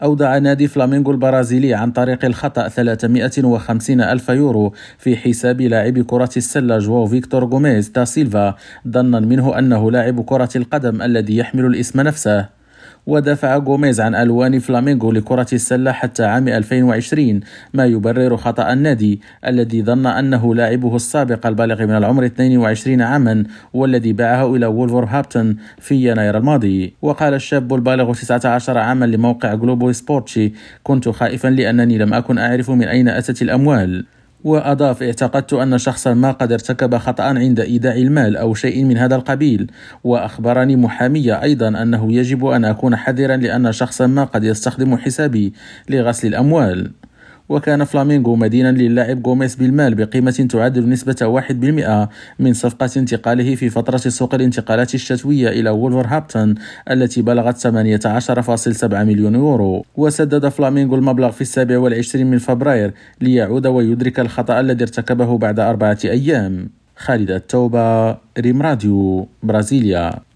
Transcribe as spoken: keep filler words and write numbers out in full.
أودع نادي فلامينغو البرازيلي عن طريق الخطأ ثلاثمائة وخمسين ألف يورو في حساب لاعب كرة السلة جواو فيكتور غوميز دا سيلفا، ظنا منه أنه لاعب كرة القدم الذي يحمل الاسم نفسه. ودافع غوميز عن ألوان فلامينغو لكرة السلة حتى عام ألفين وعشرين، ما يبرر خطأ النادي الذي ظن أنه لاعبه السابق البالغ من العمر اثنين وعشرين عاما والذي باعه إلى وولفرهامبتون في يناير الماضي. وقال الشاب البالغ تسعة عشر عاما لموقع جلوبو سبورتشي: كنت خائفا لأنني لم أكن أعرف من أين أتت الأموال. وأضاف: اعتقدت أن شخصا ما قد ارتكب خطأ عند إيداع المال أو شيء من هذا القبيل. وأخبرني محامي أيضا أنه يجب أن أكون حذرا لأن شخصا ما قد يستخدم حسابي لغسل الأموال. وكان فلامينغو مدينا للاعب غوميز بالمال بقيمة تعادل نسبة واحد بالمئة من صفقة انتقاله في فترة سوق الانتقالات الشتوية إلى وولفرهامبتون التي بلغت ثمانية عشر فاصلة سبعة مليون يورو. وسدد فلامينغو المبلغ في السابع والعشرين من فبراير ليعود ويدرك الخطأ الذي ارتكبه بعد أربعة أيام. خالد التوبة، ريم راديو، برازيليا.